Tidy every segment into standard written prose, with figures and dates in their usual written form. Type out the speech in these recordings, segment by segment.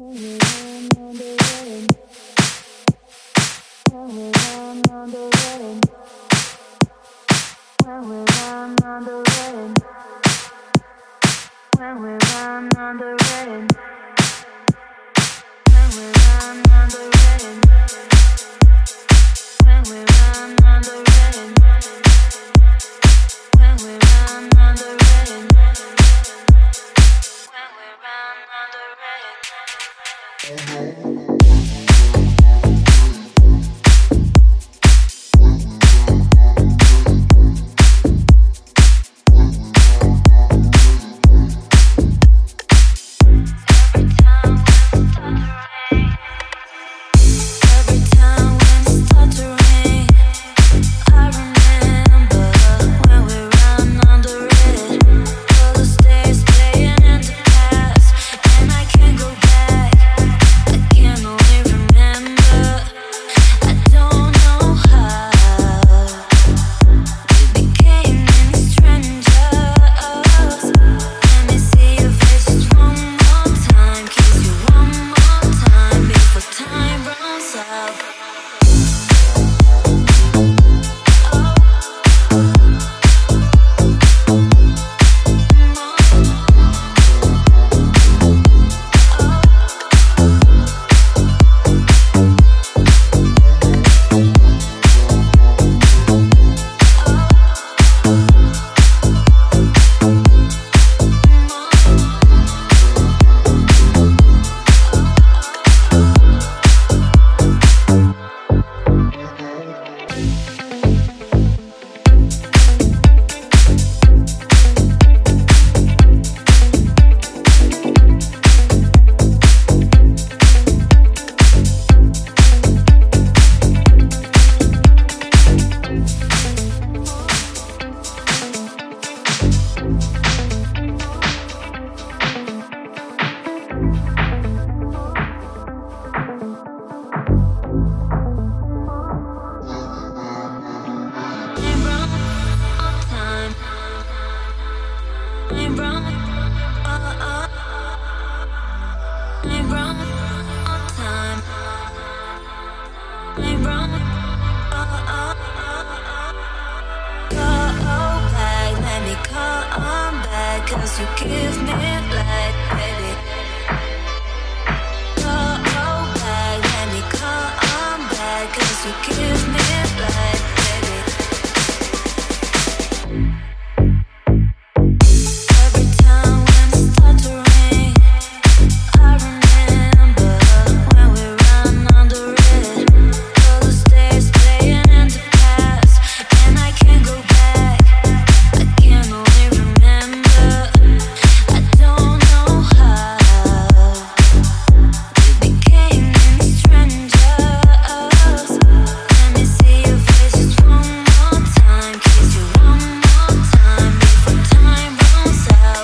'Cause you give me light, baby. Oh, back, let me come back. 'Cause you give me light, baby. Every time when it starts to rain, I remember when we ran under it. All those days playing in the past, and I can't go back. I can only remember. I don't know how we became strangers. Let me see your face just one more time. Kiss you one more time before time runs out.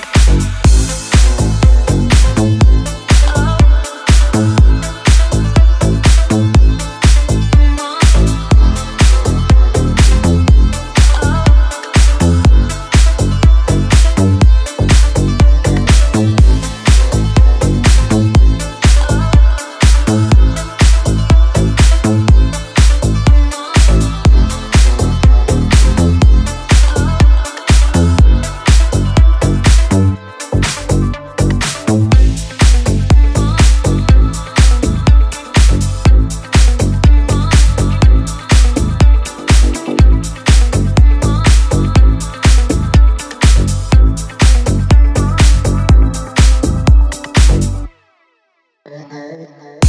Oh,